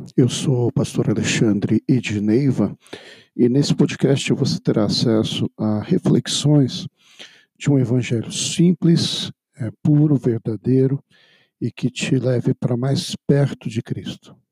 eu sou o pastor Alexandre Edneiva e nesse podcast você terá acesso a reflexões de um evangelho simples, puro, verdadeiro e que te leve para mais perto de Cristo.